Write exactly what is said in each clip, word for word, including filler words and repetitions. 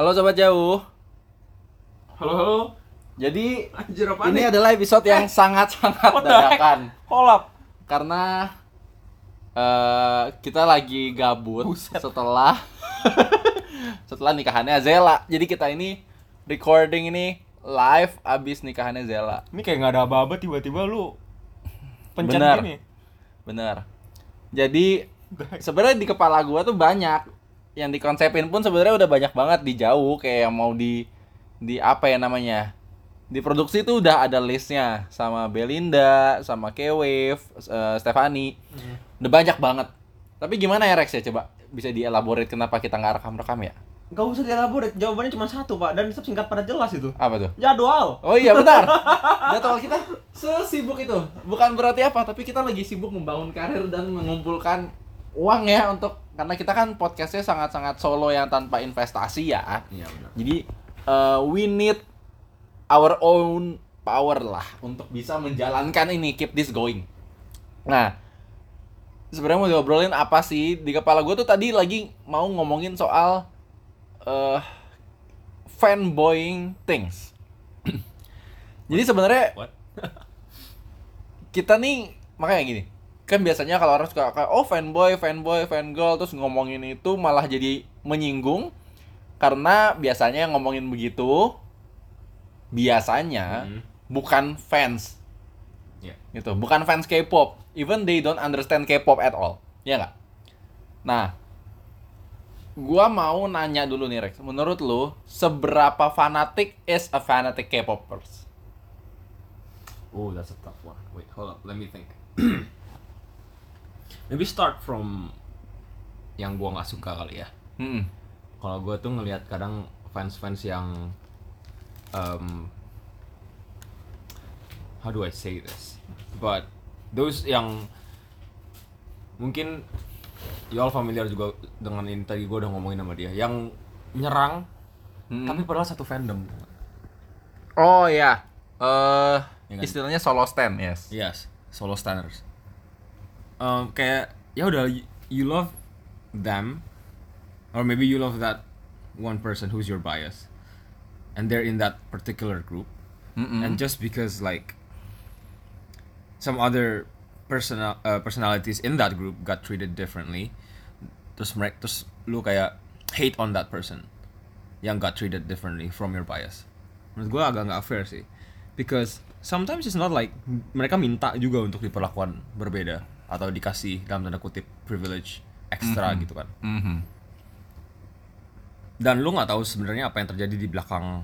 Halo sobat jauh. Halo halo. Jadi Anjir, apaan ini nih? adalah episode yang sangat-sangat What the heck? dadakan Kolap. karena eh, kita lagi gabut Buset. setelah setelah nikahannya Zela. Jadi kita ini recording ini live abis nikahannya Zela. Ini kayak nggak ada aba-aba tiba-tiba lu pencet Bener. gini. Bener. Jadi sebenarnya di kepala gua tuh banyak yang dikonsepin pun sebenarnya udah banyak banget di jauh, kayak yang mau di di apa ya namanya, diproduksi tuh udah ada listnya sama Belinda, sama K-Wave, uh, Stefani, Hmm. udah banyak banget. Tapi gimana ya Rex ya, coba bisa dielaborate kenapa kita nggak rekam-rekam ya? Gak usah dielaborate, jawabannya cuma satu pak, dan tetap singkat pada jelas itu. Apa tuh? Jadwal. Oh iya benar. Jadwal kita sesibuk itu. Bukan berarti apa, tapi kita lagi sibuk membangun karir dan mengumpulkan uang ya, untuk karena kita kan podcastnya sangat-sangat solo yang tanpa investasi ya. Iya benar. Jadi uh, we need our own power lah untuk bisa menjalankan ini, keep this going. Nah, sebenarnya mau diobrolin apa sih di kepala gue tuh tadi lagi mau ngomongin soal uh, fanboying things. Jadi sebenarnya What? kita nih makanya gini, kan biasanya kalau orang suka kayak oh fanboy, fanboy, fangirl terus ngomongin itu malah jadi menyinggung karena biasanya yang ngomongin begitu biasanya Hmm. bukan fans. Iya. Gitu, bukan fans K-pop. Even they don't understand K-pop at all. Ya nggak? Nah, gua mau nanya dulu nih Rex, menurut lu seberapa fanatik is a fanatic K-popers? Oh, that's a tough one. Wait, hold up, let me think. Maybe start from yang gua nggak suka kali ya. Hmm. Kalau gua tuh ngelihat kadang fans-fans yang um, how do I say this? But those yang mungkin you all familiar juga dengan ini, tadi gue udah ngomongin sama dia, yang nyerang Hmm. tapi padahal satu fandom. Oh ya, eh Ya kan? istilahnya solo stand, yes. Yes, solo standers. Um, kayak ya udah, y- you love them, or maybe you love that one person who's your bias, and they're in that particular group, Mm-mm. and just because like some other personal uh, personalities in that group got treated differently, terus mereka terus lu kayak hate on that person yang got treated differently from your bias. Menurut gue agak nggak fair sih, because sometimes it's not like mereka minta juga untuk diperlakukan berbeda atau dikasih dalam tanda kutip privilege ekstra gitu kan. Mhm. Dan lu nggak tahu sebenarnya apa yang terjadi di belakang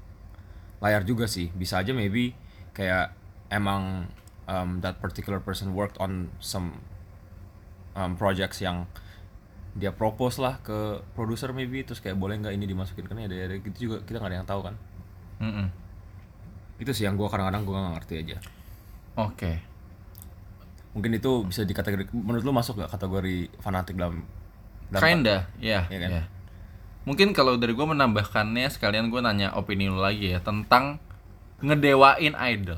layar juga sih. Bisa aja maybe kayak emang um, that particular person worked on some um, projects yang dia propose lah ke produser maybe, terus kayak boleh nggak ini dimasukin, kan ada ada gitu juga, kita nggak ada yang tahu kan. Mm-mm. Itu sih yang gue kadang-kadang gue nggak ngerti aja. Oke. Mungkin itu bisa dikategori, menurut lu masuk nggak kategori fanatik dalam, dalam Kinda, ya. Iya kan? ya. Mungkin kalau dari gue menambahkannya, sekalian gue nanya opini lu lagi ya tentang ngedewain idol.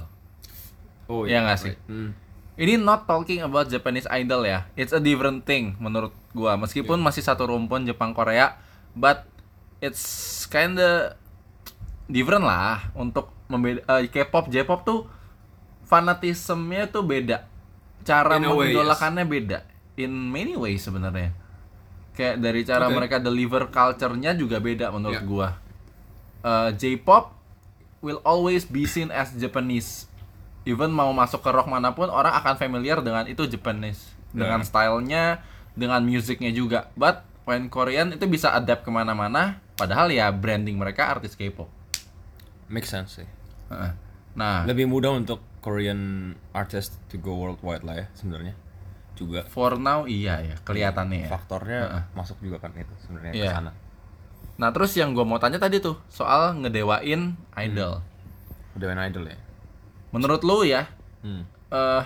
Oh Iya nggak sih? right. Hmm. Ini not talking about Japanese idol ya. It's a different thing menurut gua. Meskipun masih satu rumpun Jepang Korea, but it's kinda different lah untuk membeda uh, K-pop, J-pop tuh fanatismenya tuh beda. Cara In a way, mengidolakannya beda. In many ways sebenarnya. Kayak dari cara Okay. mereka deliver culture-nya juga beda menurut Yeah. gua. Uh, J-pop will always be seen as Japanese. Even mau masuk ke rock manapun, orang akan familiar dengan itu Japanese, dengan Yeah. stylenya, dengan musiknya juga. But when Korean itu bisa adapt kemana-mana, padahal ya branding mereka artis K-pop. Make sense sih. Heeh. Nah, Lebih mudah untuk Korean artist to go worldwide lah ya sebenarnya juga. for now iya ya, kelihatannya ya. Faktornya Heeh. masuk juga kan itu sebenarnya Iya. ke sana. Nah, terus yang gue mau tanya tadi tuh soal ngedewain idol. Udah main idol ya. Menurut lu ya, Hmm. eh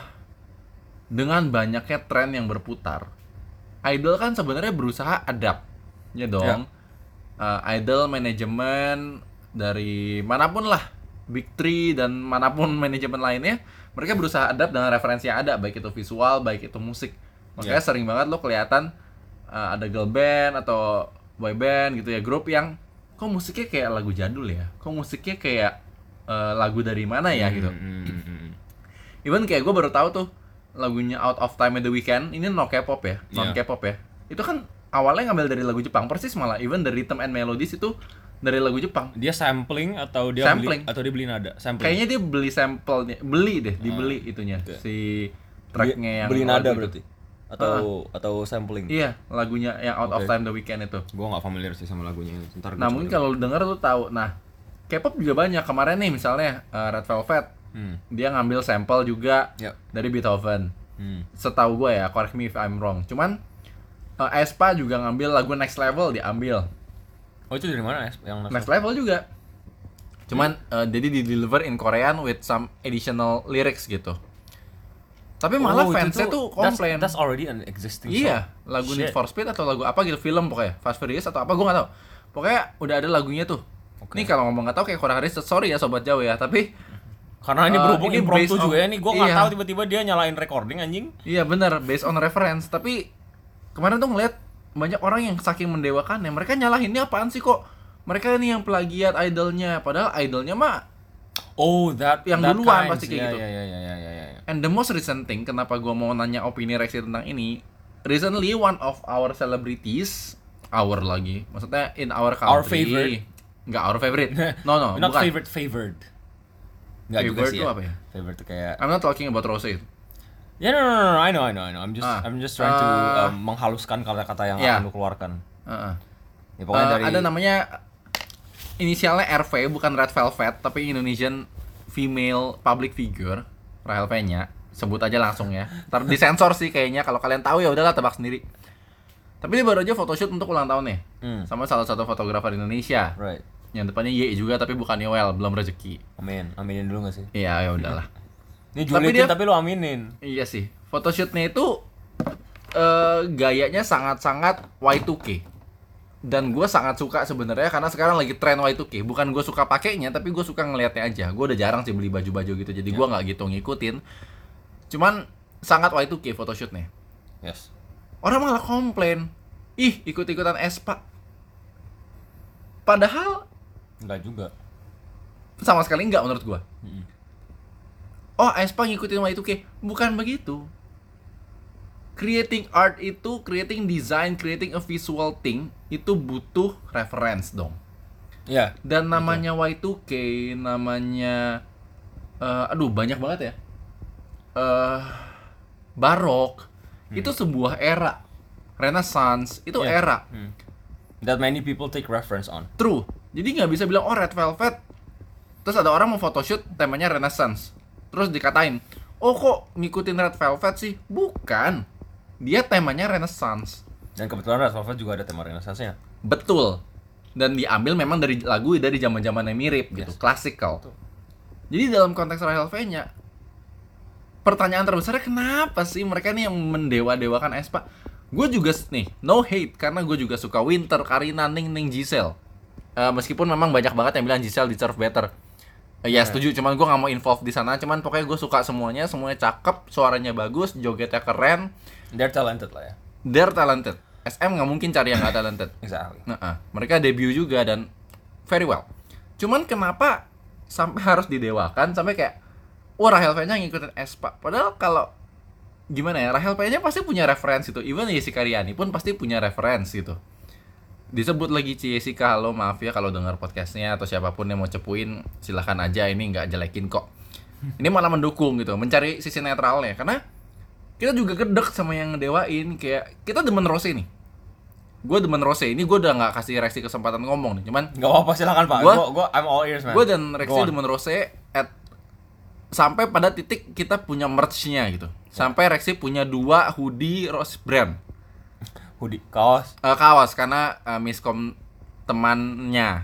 dengan banyaknya tren yang berputar, idol kan sebenarnya berusaha adapt, ya dong. Eh, idol manajemen dari manapun lah, Big Three dan manapun manajemen lainnya, mereka berusaha adapt dengan referensi yang ada, baik itu visual, baik itu musik. Makanya Yeah. sering banget lo kelihatan eh, ada girl band atau boy band gitu ya, grup yang kok musiknya kayak lagu jadul ya, kok musiknya kayak uh, lagu dari mana ya gitu. Hmm, hmm, hmm. Even kayak gue baru tahu tuh lagunya Out of Time at the Weeknd ini no K-pop ya, non Yeah. K-pop ya. Itu kan awalnya ngambil dari lagu Jepang persis, malah even dari rhythm and melodies itu dari lagu Jepang. Dia sampling atau dia Sampling. beli atau dia beli nada? Sampling. Kayaknya dia beli sampelnya, beli deh, dibeli itunya oke. si tracknya yang beli lagu nada itu. berarti atau atau sampling. Iya, lagunya yang Out of Oke. Time the Weeknd itu. Gua nggak familiar sih sama lagunya. Ntar Nah, mungkin kalau lu denger lu tahu. Nah, K-pop juga banyak. Kemarin nih misalnya uh, Red Velvet, hmm. dia ngambil sampel juga Yep. dari Beethoven. Hmm. Setahu gue ya, correct me if I'm wrong. Cuman uh, aespa juga ngambil lagu Next Level, diambil. Oh, itu dari mana ya yang Next Level juga. Cuman uh, jadi di deliver in Korean with some additional lyrics gitu. Tapi malah Oh, itu fansnya tuh that's- komplain. That's, already an existing Iya, song. lagu Need Shit. for Speed atau lagu apa gitu, film pokoknya, Fast Furious atau apa, gue nggak tahu. Pokoknya udah ada lagunya tuh. Oke. Nih kalau ngomong nggak tahu kayak kurang riset, sorry ya sobat jauh ya, tapi Karena ini Uh, berhubung ini impromptu based on- juga ya nih, gue nggak iya. tahu tiba-tiba dia nyalain recording anjing. iya bener, based on reference. Tapi kemarin tuh ngeliat banyak orang yang saking mendewakannya, mereka nyalahin ini apaan sih kok? Mereka ini yang plagiat idolnya, padahal idolnya mah. Oh, that Yang that duluan kinds. pasti kayak Iya, gitu. Iya, iya, iya, iya, iya, iya. And the most recent thing, kenapa gue mau nanya opini Rexy tentang ini? Recently one of our celebrities, our lagi, maksudnya in our country. Our favorite. Nggak our favorite. No no, Not bukan. favorite favored. Nggak juga Favorite sih tuh ya. apa ya? Favorite tuh kayak I'm not talking about Rose. ya no, no, no, no, I know, I know, I know. I'm just, Ah, I'm just trying to uh, um, menghaluskan kata-kata yang yeah. akan lu keluarkan. Uh-uh. Ya pokoknya Uh, dari ada namanya inisialnya R V, bukan Red Velvet, tapi Indonesian female public figure, Rahel V-nya. Sebut aja langsung ya. Ntar disensor sih kayaknya, kalau kalian tahu ya udahlah tebak sendiri. Tapi dia baru aja photoshoot untuk ulang tahun nih. Hmm. Sama salah satu fotografer Indonesia. Right. Yang depannya Y juga tapi bukan Yoel, belum rezeki. Amin. Aminin dulu gak sih? Iya, ya udahlah. Ini Tapi Julitin dia- tapi lu aminin. Iya sih. Photoshootnya itu eh, gayanya sangat-sangat Y two K. Dan gue sangat suka sebenarnya karena sekarang lagi tren Y two K. Bukan gue suka pakainya, tapi gue suka ngelihatnya aja. Gue udah jarang sih beli baju-baju gitu, jadi gue nggak gitu ngikutin. Cuman sangat Y two K photoshootnya. Yes. Orang malah komplain, ih ikut-ikutan aespa. Padahal Enggak juga. sama sekali nggak menurut gue. Mm-mm. Oh, aespa ngikutin Y two K. Bukan begitu. Creating art itu, creating design, creating a visual thing itu butuh reference dong. Iya. Dan namanya Y two K, namanya eh, aduh banyak banget ya. Eh barok itu sebuah era. Renaissance itu Yeah. era. Hmm. That many people take reference on. True. Jadi nggak bisa bilang oh Red Velvet. Terus ada orang mau photoshoot temanya Renaissance. Terus dikatain, "Oh kok ngikutin Red Velvet sih?" Bukan. Dia temanya Renaissance. Dan kebetulan Red Velvet juga ada tema Renaissance-nya. Betul. Dan diambil memang dari lagu dari zaman-zaman yang mirip gitu, Yes. klasikal. Jadi dalam konteks Rahel V-nya, pertanyaan terbesarnya kenapa sih mereka nih yang mendewa-dewakan aespa? Gue juga nih, no hate karena gue juga suka Winter, Karina, Ning, Ning, Giselle. Eh, meskipun memang banyak banget yang bilang Giselle deserve better. Eh, ya Right. setuju, cuman gue nggak mau involve di sana. Cuman pokoknya gue suka semuanya, semuanya cakep, suaranya bagus, jogetnya keren, They're talented lah ya. they're talented. S M nggak mungkin cari yang nggak talented. Exactly. Nah, ah, mereka debut juga dan very well. Cuman kenapa sampai harus didewakan sampai kayak wah Rahel V-nya ngikutin aespa. Padahal kalau gimana ya, Rahel V-nya pasti punya referensi itu. Even Jessica Riani pun pasti punya referensi itu. Disebut lagi Ci Jessica, halo maaf ya kalau dengar podcastnya atau siapapun yang mau cepuin silahkan aja, ini nggak jelekin kok. Ini malah mendukung gitu, mencari sisi netralnya karena kita juga gedek sama yang ngedewain. Kayak kita demen Rose nih. Gue demen Rose ini, gue udah nggak kasih Rexy kesempatan ngomong nih. Cuman Gak apa-apa, silakan Pak. Gua- Gua, gua, I'm all ears, man. gue dan Rexy Go on. demen Rose at sampai pada titik kita punya merch-nya gitu. Sampai Rexy punya dua hoodie Rose brand. Hoodie, kaos. Eh, kaos karena eh, miskom temannya.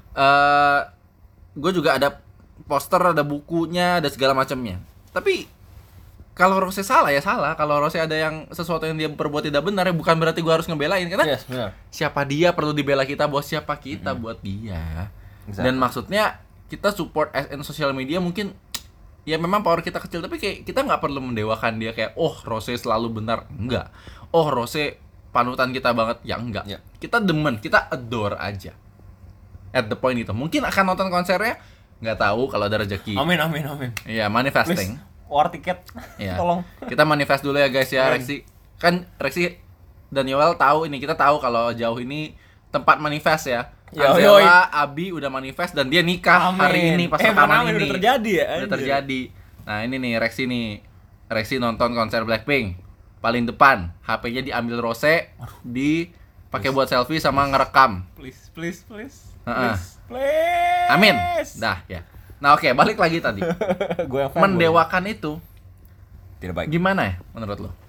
Eh gue juga ada poster, ada bukunya, ada segala macamnya. Tapi kalau Rose salah ya salah. Kalau Rose ada yang sesuatu yang dia perbuat tidak benar ya bukan berarti gue harus ngebelain karena Yes, benar. siapa dia perlu dibela kita, bos siapa kita buat dia. Exactly. Dan maksudnya kita support as in social media mungkin ya memang power kita kecil tapi kayak kita nggak perlu mendewakan dia kayak oh Rose selalu benar, enggak. Oh Rose panutan kita banget, ya enggak. Ya. Kita demen, kita adore aja. at the point itu. Mungkin akan nonton konsernya, nggak tahu kalau ada rezeki. Amin amin amin. Iya, manifesting. Please, war tiket. Iya. Tolong. Kita manifest dulu ya guys ya, Amin. Rexi. Kan Rexi dan Yoel tahu ini, kita tahu kalau jauh ini tempat manifest ya. Yo, Anzela, Abi udah manifest dan dia nikah Amin. hari ini pas eh, rekaman amin, ini. udah terjadi ya. Udah anjir. terjadi. Nah, ini nih Rexi nih. Rexi nonton konser Blackpink. Paling depan, H P-nya diambil Rose, dipakai buat selfie sama ngerekam. Please, please, please. Heeh. Please, please. Amin. Dah ya. Nah, oke, balik lagi tadi. Gue yang fanboy. Mendewakan itu Tidak baik. gimana ya menurut lo?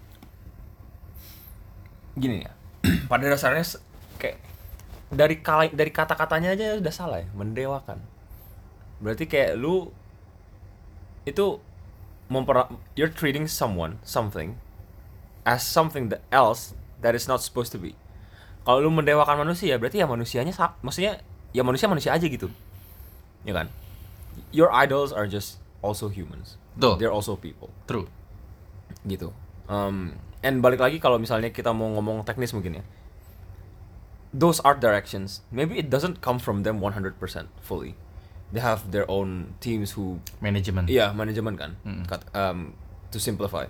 Gini ya. Pada dasarnya se- kayak dari kala, dari kata-katanya aja udah salah ya, mendewakan. Berarti kayak lu itu memper you're treating someone, something as something that else that is not supposed to be. Kalau lu mendewakan manusia, berarti ya manusianya sa- maksudnya ya manusia manusia aja gitu. Ya kan? Your idols are just also humans. Betul. They're also people. True. Gitu. Um, and balik lagi kalau misalnya kita mau ngomong teknis mungkin ya. Those art directions, maybe it doesn't come from them one hundred percent fully. They have their own teams who, Manajemen. iya manajemen kan, Mm-mm. Kat- um, to simplify.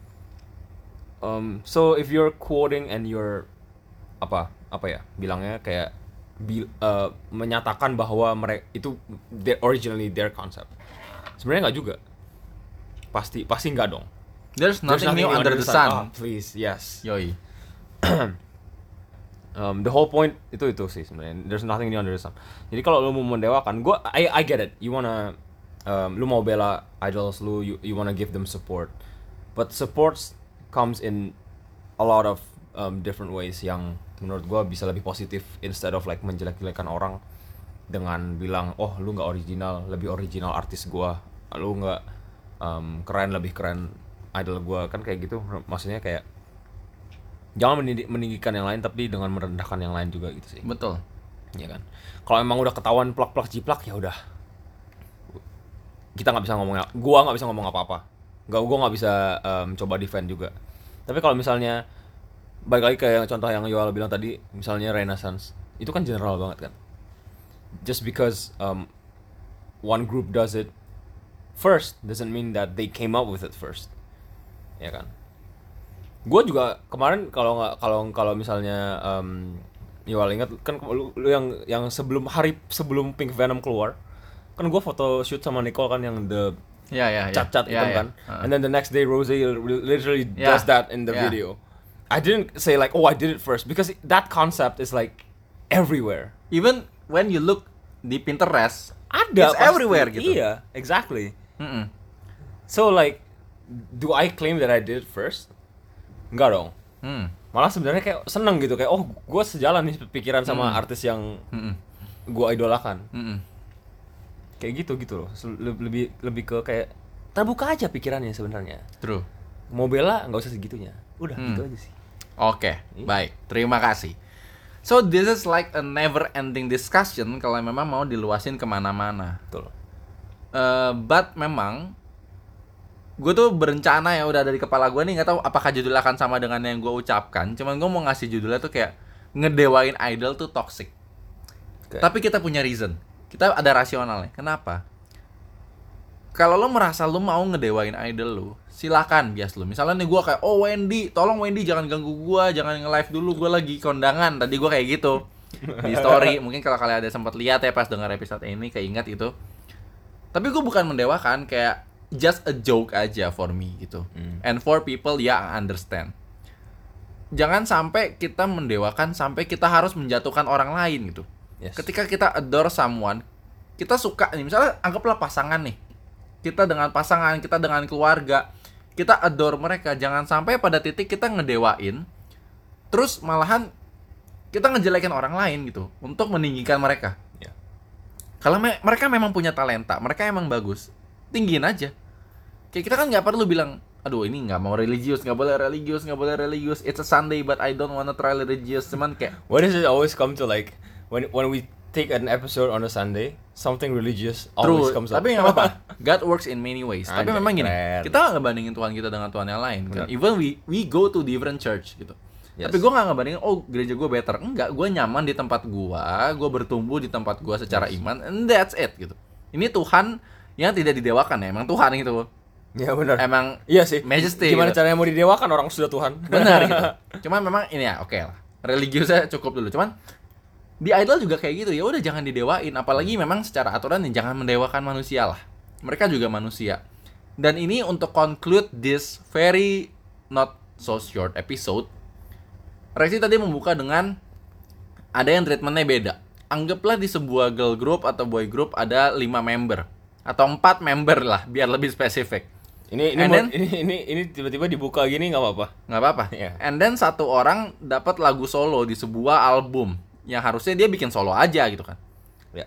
Um, so if you're quoting and you're apa apa ya bilangnya kayak bil, uh, menyatakan bahwa mereka itu their, originally their concept. Sebenarnya nggak juga. Pasti pasti nggak dong. There's There's nothing new under the sun. Ah, please, yes. Yoi. Um, the whole point itu itu sih sebenarnya. There's nothing new under the sun. Jadi kalau lu mau mendewakan, gua I I get it. You wanna um, lu mau bela idols lu, you you wanna give them support. But supports comes in a lot of um, different ways yang menurut gua bisa lebih positif instead of like menjelek-jelekan orang dengan bilang, "Oh, lu nggak original, lebih original artis gua. Lu nggak um, keren, lebih keren idol gua." Kan kayak gitu. Maksudnya kayak jangan menindi- meninggikan yang lain tapi dengan merendahkan yang lain juga gitu sih. Betul. Ya kan. Kalau emang udah ketahuan plak-plak jiplak ya udah. Kita nggak bisa ngomong, gua nggak bisa ngomong apa-apa. Nggak, gua nggak bisa um, coba defend juga. Tapi kalau misalnya balik lagi ke yang contoh yang Yoel bilang tadi, misalnya Renaissance, itu kan general banget kan. Just because um, one group does it first doesn't mean that they came up with it first. Ya kan. Gue juga kemarin kalau nggak kalau kalau misalnya um, Yoel ingat kan lu, lu yang yang sebelum hari sebelum Pink Venom keluar kan gue foto shoot sama Nicole kan yang the Ya ya ya. cat-cat Ya, itu ya. kan, Uh. and then the next day Rose literally Yeah. does that in the Yeah. video. I didn't say like, oh I did it first because that concept is like everywhere. Even when you look di Pinterest, Ada it's pasti. everywhere gitu. Iya, exactly. Mm-mm. So like, do I claim that I did it first? Enggak dong. Hmm. Malah sebenarnya kayak seneng gitu kayak oh gue sejalan nih pikiran sama Hmm. artis yang Mm-mm. gue idolakan. Mm-mm. Kayak gitu gitu loh. Se- Lebih lebih ke kayak terbuka aja pikirannya sebenarnya. True. Mau bela nggak usah segitunya. Udah Hmm. gitu aja sih. Oke, Iya. baik. Terima kasih. So this is like a never ending discussion kalau memang mau diluasin kemana-mana. Betul. Eh, but memang gue tuh berencana ya udah dari kepala gue nih, nggak tahu apakah judulnya akan sama dengan yang gue ucapkan. Cuman gue mau ngasih judulnya tuh kayak ngedewain idol tuh toxic. Oke. Tapi kita punya reason. Kita ada rasionalnya. Kenapa? Kalau lo merasa lo mau ngedewain idol lo, silakan bias lo. Misalnya nih gue kayak, oh Wendy, tolong Wendy jangan ganggu gue, jangan nge-live dulu, gue lagi kondangan. Tadi gue kayak gitu di story. Mungkin kalau kalian ada sempat lihat ya pas dengar episode ini, keinget itu. Tapi gue bukan mendewakan, kayak just a joke aja for me gitu. Hmm. And for people, ya I understand. Jangan sampai kita mendewakan sampai kita harus menjatuhkan orang lain gitu. Yes. Ketika kita adore someone, kita suka nih, misalnya anggaplah pasangan nih. Kita dengan pasangan, kita dengan keluarga, kita adore mereka. Jangan sampai pada titik kita ngedewain, terus malahan kita ngejelekin orang lain gitu untuk meninggikan mereka. Ya. Kalau me- mereka memang punya talenta, mereka emang bagus, tinggiin aja. Kayak kita kan nggak perlu bilang, aduh ini nggak mau religius, nggak boleh religius, nggak boleh religius. It's a Sunday but I don't wanna try religious. Cuman kayak Why does it always come to like when when we take an episode on a Sunday, something religious always true, comes up. tapi nggak apa-apa. God works in many ways. Tapi Anjay, memang gini, keren. kita nggak ngebandingin Tuhan kita dengan Tuhan yang lain. Benar. Even we we go to different church gitu. Yes. Tapi gue nggak ngebandingin, oh gereja gue better. Enggak, gue nyaman di tempat gue, gue bertumbuh di tempat gue secara Yes. iman, and that's it gitu. Ini Tuhan yang tidak didewakan ya, emang Tuhan gitu. Ya benar. Emang Iya sih. majesty Gimana gitu. caranya mau didewakan orang sudah Tuhan? Benar gitu. Cuman memang ini ya, oke lah. Religiusnya cukup dulu. Cuman di idol juga kayak gitu. Ya udah jangan didewain, apalagi memang secara aturan ya jangan mendewakan manusia lah. Mereka juga manusia. Dan ini untuk conclude this very not so short episode. Rexy tadi membuka dengan ada yang treatmentnya beda. Anggaplah di sebuah girl group atau boy group ada lima member atau empat member lah biar lebih spesifik. Ini ini And mau- then- ini ini ini tiba-tiba dibuka gini nggak apa-apa. Nggak apa-apa. Iya. And then satu orang dapat lagu solo di sebuah album yang harusnya dia bikin solo aja gitu kan. Ya.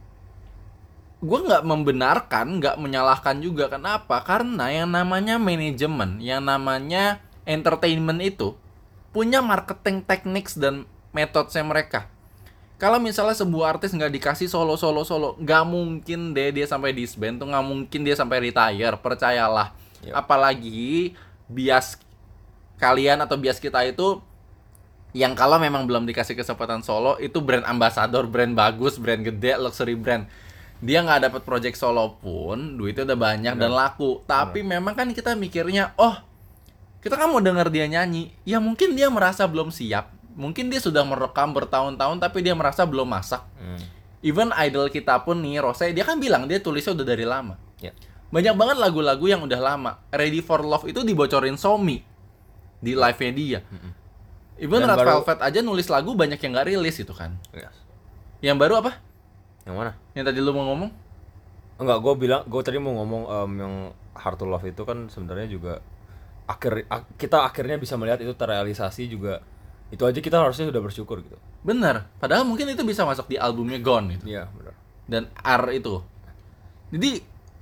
Gue nggak membenarkan, nggak menyalahkan juga. Kenapa? Karena yang namanya manajemen, yang namanya entertainment itu punya marketing techniques dan metodenya mereka. Kalau misalnya sebuah artis nggak dikasih solo solo solo, nggak mungkin deh dia sampai disband tuh, nggak mungkin dia sampai retire, percayalah. Yep. Apalagi bias kalian atau bias kita itu yang kalau memang belum dikasih kesempatan solo itu brand ambassador, brand bagus, brand gede, luxury brand. Dia nggak dapat project solo pun duitnya udah banyak dan laku. Tapi memang kan kita mikirnya, oh kita kan mau denger dia nyanyi, ya mungkin dia merasa belum siap. Mungkin dia sudah merekam bertahun-tahun tapi dia merasa belum masak. Hmm. Even idol kita pun nih, Rose, dia kan bilang dia tulisnya udah dari lama. Ya. Banyak banget lagu-lagu yang udah lama. Ready for Love itu dibocorin Somi di live-nya dia. Even Dan Red baru- Velvet aja nulis lagu banyak yang nggak rilis itu kan. Yes. Yang baru apa? Yang mana? Yang tadi lu mau ngomong? Enggak, gue bilang, gue tadi mau ngomong em, yang Hard to Love itu kan sebenarnya juga akhir ak- kita akhirnya bisa melihat itu terrealisasi juga. Itu aja kita harusnya sudah bersyukur gitu. Bener. Padahal mungkin itu bisa masuk di albumnya Gone gitu. Iya, benar. Dan R itu. Jadi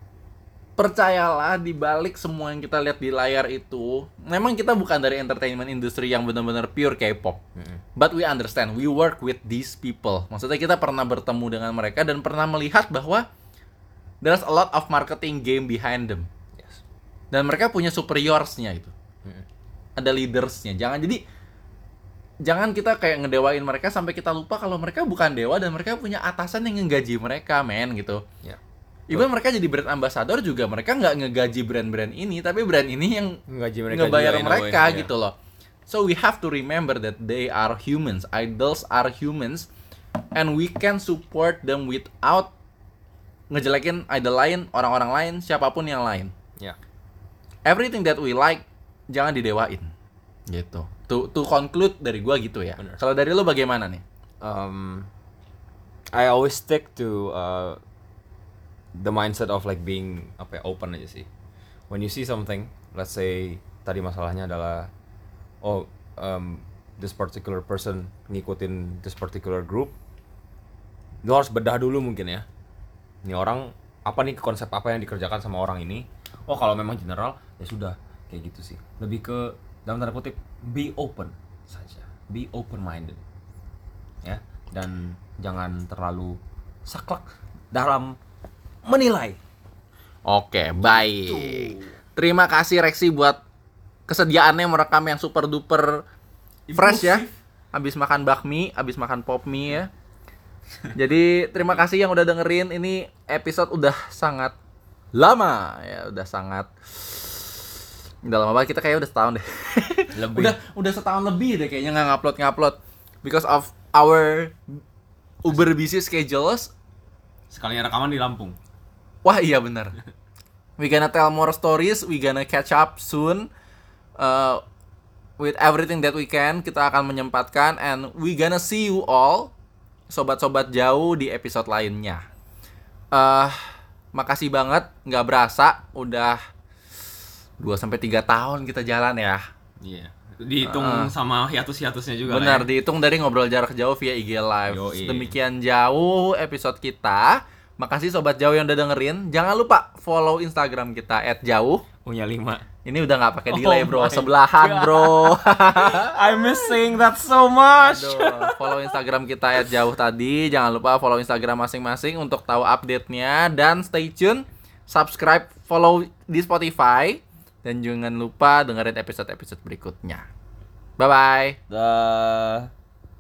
percayalah di balik semua yang kita lihat di layar itu, memang kita bukan dari entertainment industry yang benar-benar pure K-pop. But we understand, we work with these people. Maksudnya kita pernah bertemu dengan mereka dan pernah melihat bahwa there's a lot of marketing game behind them. Yes. Dan mereka punya superiors-nya itu. Ada leaders-nya. Jangan jadi jangan kita kayak ngedewain mereka sampai kita lupa kalau mereka bukan dewa dan mereka punya atasan yang ngegaji mereka, men, gitu. Ya. Even mereka jadi brand ambassador juga mereka nggak ngegaji brand-brand ini, tapi brand ini yang Ngegaji mereka ngebayar juga in a mereka way, gitu loh. So we have to remember that they are humans, idols are humans, and we can support them without ngejelekin idol lain, orang-orang lain, siapapun yang lain. Ya. Everything that we like jangan didewain, gitu. To to conclude dari gua gitu ya. Bener. Kalau dari lo bagaimana nih? Um, I always stick to uh, the mindset of like being apa ya, open aja sih. When you see something, let's say tadi masalahnya adalah oh um, this particular person ngikutin this particular group, lo harus bedah dulu mungkin ya. Ini orang apa nih konsep apa yang dikerjakan sama orang ini? Oh kalau memang general ya sudah kayak gitu sih. Lebih ke dalam tanda kutip be open saja, be open minded ya, dan jangan terlalu saklek dalam menilai. Oke, baik. Terima kasih Rexy buat kesediaannya merekam yang super duper fresh ya. Habis makan bakmi, habis makan pop mie ya. Jadi terima kasih yang udah dengerin. Ini episode udah sangat lama ya, udah sangat udah lama banget, kita kayaknya udah setahun deh. Lebih. udah udah setahun lebih deh kayaknya nggak ngupload ngupload because of our uber busy schedules. Sekalinya rekaman di Lampung. Wah iya benar. We gonna tell more stories, we gonna catch up soon uh, with everything that we can. Kita akan menyempatkan and we gonna see you all, sobat-sobat jauh, di episode lainnya. Uh, makasih banget, nggak berasa udah dua sampai tiga tahun kita jalan ya. Iya. Dihitung sama hiatus-hiatusnya juga. Benar, lah ya. dihitung dari ngobrol jarak jauh via I G Live. Yoi. Demikian jauh episode kita. Makasih sobat jauh yang udah dengerin. Jangan lupa follow Instagram kita et jauh. Punya lima. Ini udah nggak pakai delay, Oh bro. my Sebelahan, God. bro. I'm missing that so much. Aduh, follow Instagram kita et jauh tadi. Jangan lupa follow Instagram masing-masing untuk tahu update-nya dan stay tune. Subscribe, follow di Spotify dan jangan lupa dengerin episode-episode berikutnya. Bye bye. Dah.